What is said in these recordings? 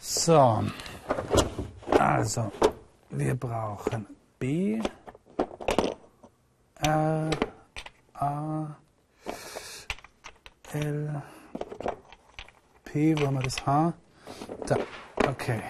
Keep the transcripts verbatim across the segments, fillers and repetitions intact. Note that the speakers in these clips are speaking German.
So, also wir brauchen B, R, A, L, P, wo haben wir das H? Da, okay.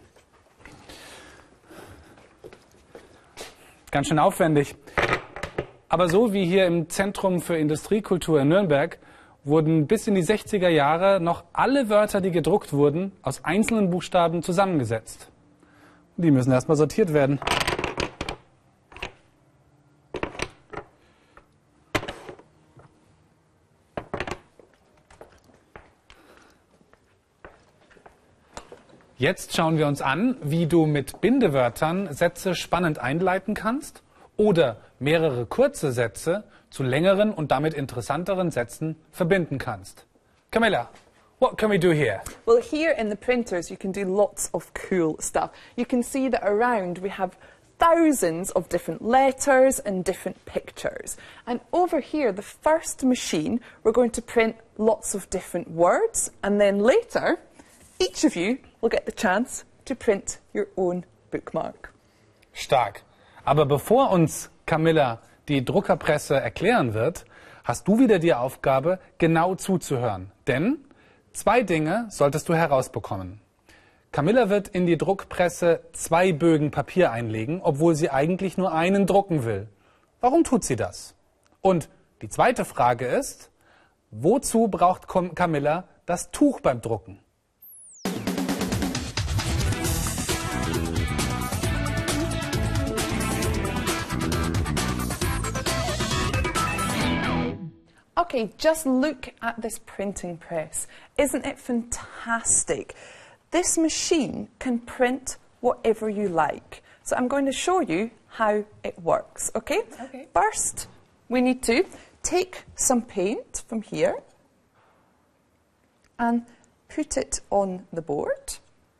Ganz schön aufwendig. Aber so wie hier im Zentrum für Industriekultur in Nürnberg wurden bis in die sechziger Jahre noch alle Wörter, die gedruckt wurden, aus einzelnen Buchstaben zusammengesetzt. Die müssen erstmal sortiert werden. Jetzt schauen wir uns an, wie du mit Bindewörtern Sätze spannend einleiten kannst oder mehrere kurze Sätze zu längeren und damit interessanteren Sätzen verbinden kannst. Camilla, what can we do here? Well, here in the printers you can do lots of cool stuff. You can see that around we have thousands of different letters and different pictures. And over here, the first machine, we're going to print lots of different words, and then later each of you will get the chance to print your own bookmark. Stark. Aber bevor uns Camilla die Druckerpresse erklären wird, hast du wieder die Aufgabe, genau zuzuhören. Denn zwei Dinge solltest du herausbekommen. Camilla wird in die Druckpresse zwei Bögen Papier einlegen, obwohl sie eigentlich nur einen drucken will. Warum tut sie das? Und die zweite Frage ist, wozu braucht Camilla das Tuch beim Drucken? Okay, just look at this printing press. Isn't it fantastic? This machine can print whatever you like. So I'm going to show you how it works, okay? Okay. First, we need to take some paint from here and put it on the board.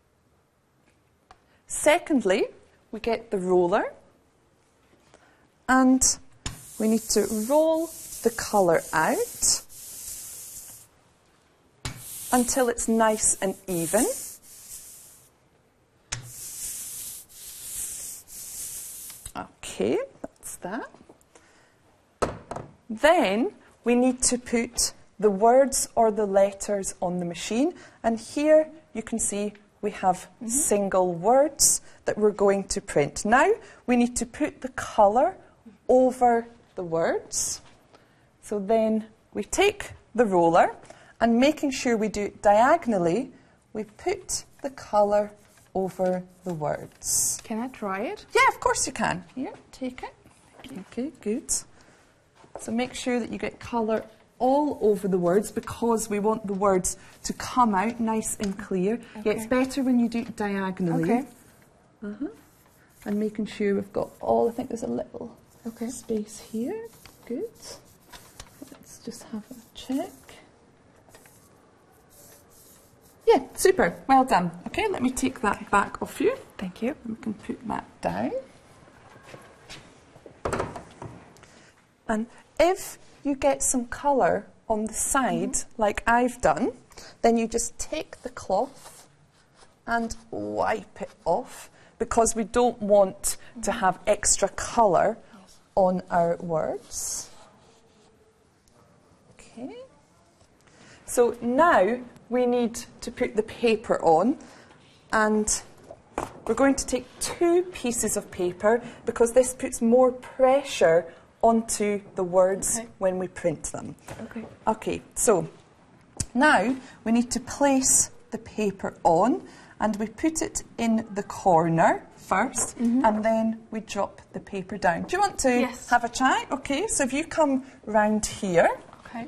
Secondly, we get the roller and we need to roll the colour out until it's nice and even. Okay, that's that. Then we need to put the words or the letters on the machine, and here you can see we have mm-hmm. single words that we're going to print. Now we need to put the colour over the words. So then we take the roller and making sure we do it diagonally, we put the colour over the words. Can I try it? Yeah, of course you can. Here, take it. Okay, good. So make sure that you get colour all over the words because we want the words to come out nice and clear. Okay. Yeah, it's better when you do it diagonally. Okay. Uh-huh. And making sure we've got all, I think there's a little okay. space here. Good. Just have a check. Yeah, super. Well done. Okay, let me take that back off you. Thank you. We can put that down. And if you get some colour on the side, mm-hmm. like I've done, then you just take the cloth and wipe it off because we don't want mm-hmm. to have extra colour yes. on our words. Okay. So now we need to put the paper on, and we're going to take two pieces of paper because this puts more pressure onto the words okay. when we print them. Okay. Okay, so now we need to place the paper on, and we put it in the corner first, mm-hmm. and then we drop the paper down. Do you want to yes. have a try? Okay, so if you come round here. Okay.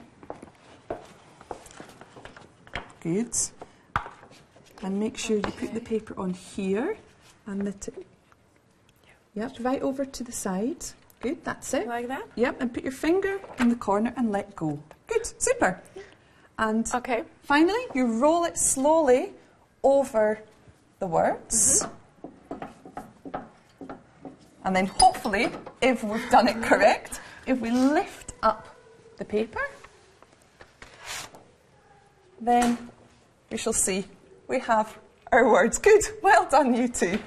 Good. And make sure you okay. put the paper on here and the tip. Yep, right over to the side. Good, that's it. Like that? Yep, and put your finger in the corner and let go. Good, super. And okay. finally, you roll it slowly over the words. Mm-hmm. And then hopefully, if we've done it correct, if we lift up the paper, then we shall see we have our words. Good. Well done, you two.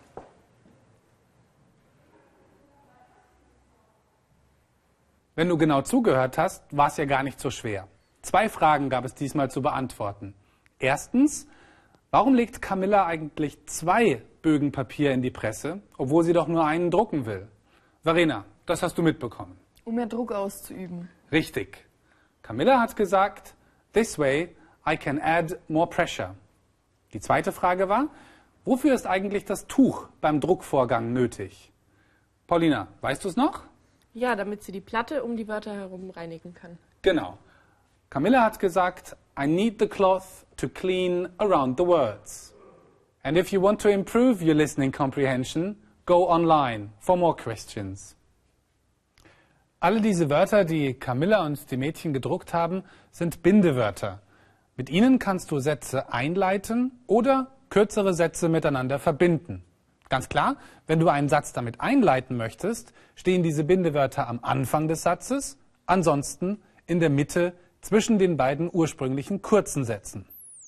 Wenn du genau zugehört hast, war es ja gar nicht so schwer. Zwei Fragen gab es diesmal zu beantworten. Erstens, warum legt Camilla eigentlich zwei Bögen Papier in die Presse, obwohl sie doch nur einen drucken will? Verena, das hast du mitbekommen. Um mehr Druck auszuüben. Richtig. Camilla hat gesagt, this way I can add more pressure. Die zweite Frage war, wofür ist eigentlich das Tuch beim Druckvorgang nötig? Paulina, weißt du es noch? Ja, damit sie die Platte um die Wörter herum reinigen kann. Genau. Camilla hat gesagt, I need the cloth to clean around the words. And if you want to improve your listening comprehension, go online for more questions. Alle diese Wörter, die Camilla und die Mädchen gedruckt haben, sind Bindewörter. Mit ihnen kannst du Sätze einleiten oder kürzere Sätze miteinander verbinden. Ganz klar, wenn du einen Satz damit einleiten möchtest, stehen diese Bindewörter am Anfang des Satzes, ansonsten in der Mitte zwischen den beiden ursprünglichen kurzen Sätzen.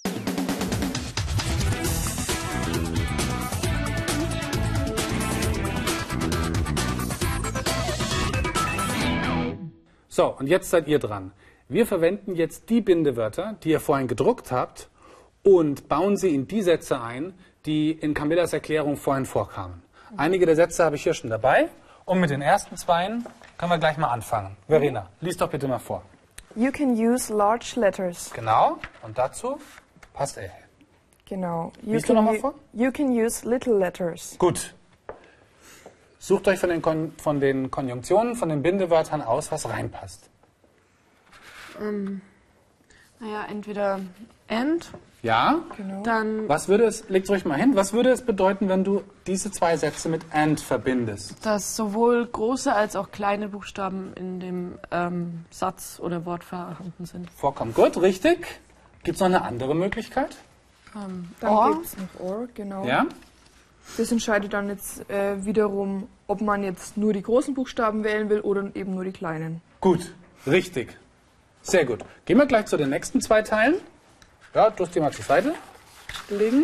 So, und jetzt seid ihr dran. Wir verwenden jetzt die Bindewörter, die ihr vorhin gedruckt habt, und bauen sie in die Sätze ein, die in Camillas Erklärung vorhin vorkamen. Einige der Sätze habe ich hier schon dabei. Und mit den ersten zweien können wir gleich mal anfangen. Verena, lies doch bitte mal vor. You can use large letters. Genau. Und dazu passt er. Genau. You Liest du can noch mal u- vor? You can use little letters. Gut. Sucht euch von den, Kon von den Konjunktionen, von den Bindewörtern aus, was reinpasst. Ähm, naja, entweder and, Ja? Genau. dann Was würde es, leg's ruhig mal hin, was würde es bedeuten, wenn du diese zwei Sätze mit and verbindest? dass sowohl große als auch kleine Buchstaben in dem ähm, Satz oder Wort vorhanden sind. Vorkommt gut, richtig. Gibt es noch eine andere Möglichkeit? Ähm, Dann or, gibt es noch or, genau. Ja? Das entscheidet dann jetzt äh, wiederum, ob man jetzt nur die großen Buchstaben wählen will oder eben nur die kleinen. Gut, richtig. Sehr gut. Gehen wir gleich zu den nächsten zwei Teilen. Ja, du hast die mal zur Seite legen.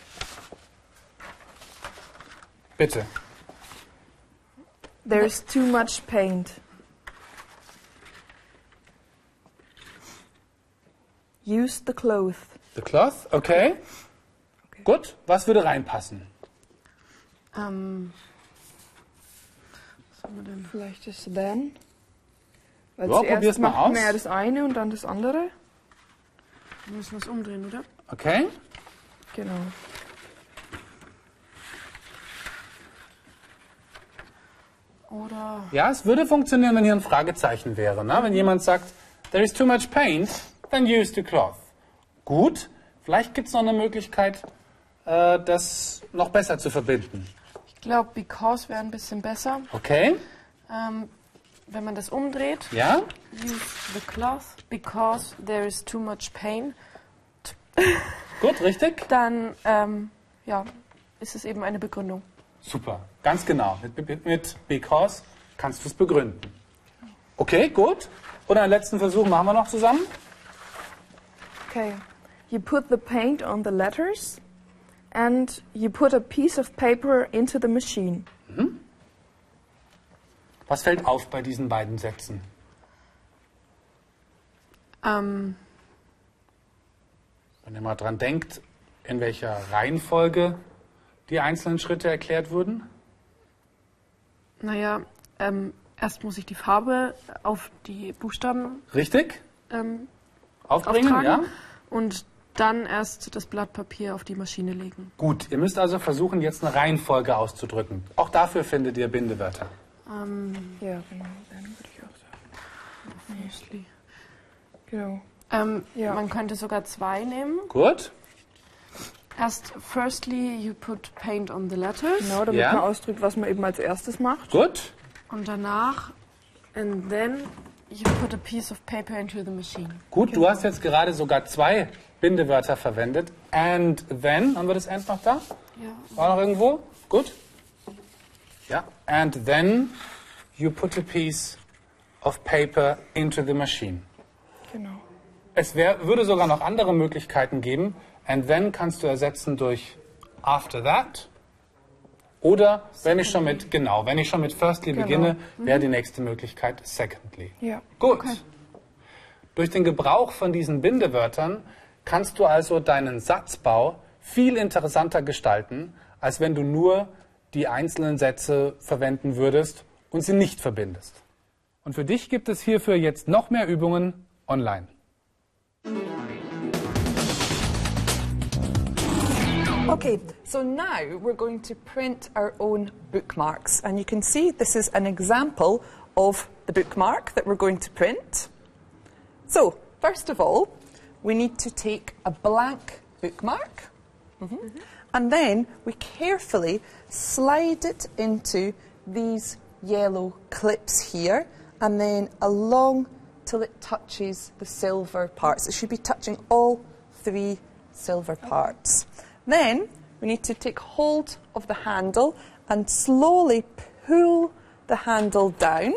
Bitte. There's too much paint. Use the cloth. The cloth, okay. Okay. Gut, was würde reinpassen? ähm, was haben wir denn? Vielleicht das then. Weil Ja, probier's zuerst mal macht man aus. ja das eine und dann das andere. Wir müssen was umdrehen, oder? Okay. Genau. Oder Ja, es würde funktionieren, wenn hier ein Fragezeichen wäre. Ne? Wenn jemand sagt, there is too much paint, then use the cloth. Gut, vielleicht gibt es noch eine Möglichkeit, äh, das noch besser zu verbinden. ich glaube, because wäre ein bisschen besser. Okay, Ähm, wenn man das umdreht, ja? use the cloth because there is too much pain, Gut, richtig? dann ähm, ja, ist es eben eine Begründung. Super, ganz genau. Mit, mit, mit because kannst du es begründen. Okay, gut. Und einen letzten Versuch machen wir noch zusammen. Okay. You put the paint on the letters and you put a piece of paper into the machine. Was fällt auf bei diesen beiden Sätzen? Ähm, Wenn ihr mal dran denkt, in welcher Reihenfolge die einzelnen Schritte erklärt wurden. naja, ähm, erst muss ich die Farbe auf die Buchstaben Richtig? ähm, Aufbringen, auftragen ja? und dann erst das Blatt Papier auf die Maschine legen. Gut, ihr müsst also versuchen, jetzt eine Reihenfolge auszudrücken. Auch dafür findet ihr Bindewörter. Ähm, Ja, genau. Dann würde ich auch sagen. mostly. Genau. Ähm, Ja. Man könnte sogar zwei nehmen. Gut? Erst, firstly, you put paint on the letters. Genau, damit Ja. man ausdrückt, was man eben als erstes macht. Gut? Und danach, and then you put a piece of paper into the machine. Gut, du hast jetzt gerade sogar zwei Bindewörter verwendet. And then, haben wir das and noch da? Ja. War noch irgendwo? Gut? Ja. And then you put a piece of paper into the machine. Genau. Es wär, würde sogar noch andere Möglichkeiten geben. And then kannst du ersetzen durch after that. Oder wenn ich schon mit, genau, wenn ich schon mit firstly Genau. beginne, Mhm. wäre die nächste Möglichkeit secondly. Ja. Gut. Okay. Durch den Gebrauch von diesen Bindewörtern kannst du also deinen Satzbau viel interessanter gestalten, als wenn du nur die einzelnen Sätze verwenden würdest und sie nicht verbindest. Und für dich gibt es hierfür jetzt noch mehr Übungen online. Okay, so now we're going to print our own bookmarks. And you can see this is an example of the bookmark that we're going to print. So, first of all, we need to take a blank bookmark. Mm-hmm. Mm-hmm. And then we carefully slide it into these yellow clips here and then along till it touches the silver parts. It should be touching all three silver parts. Then we need to take hold of the handle and slowly pull the handle down.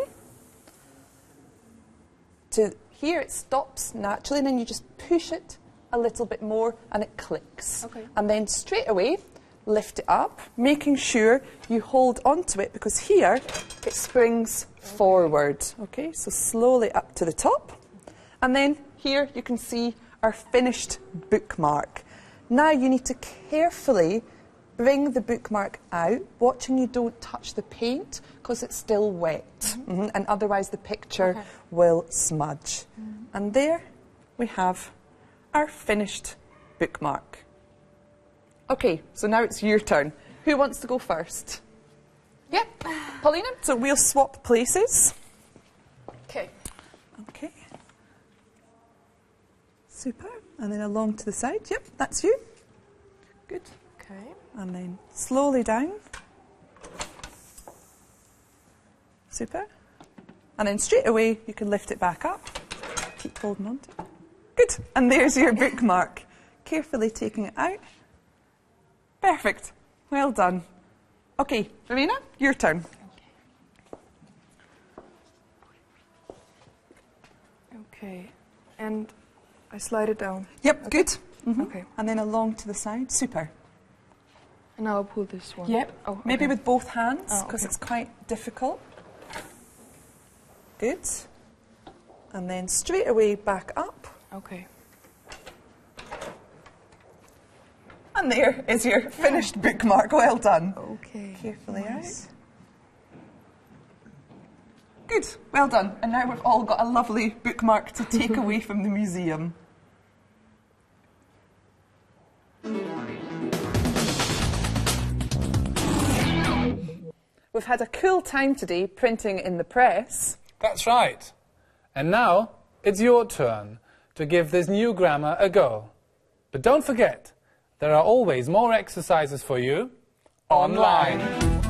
To here it stops naturally, and then you just push it a little bit more and it clicks. Okay. And then straight away lift it up, making sure you hold onto it because here it springs forward. Okay, so slowly up to the top. And then here you can see our finished bookmark. Now you need to carefully bring the bookmark out, watching you don't touch the paint because it's still wet. Mm-hmm. Mm-hmm. And otherwise the picture Okay. will smudge. Mm-hmm. And there we have our finished bookmark. Okay, so now it's your turn. Who wants to go first? Yep, Paulina. So we'll swap places. Okay. Okay. Super. And then along to the side. Yep, that's you. Good. Okay. And then slowly down. Super. And then straight away you can lift it back up. Keep holding on to it. Good. And there's your bookmark. Carefully taking it out. Perfect. Well done. Okay, Verena, your turn. Okay. And I slide it down. Yep, good. Mhm. Okay. And then along to the side. Super. And now I'll pull this one. Yep. Oh, Maybe okay. with both hands Oh, because okay. it's quite difficult. Good. And then straight away back up. Okay. And there is your finished bookmark. Well done. Okay. Carefully Nice. out. Good. Well done. And now we've all got a lovely bookmark to take away from the museum. We've had a cool time today printing in the press. That's right. And now it's your turn to give this new grammar a go. But don't forget, there are always more exercises for you online.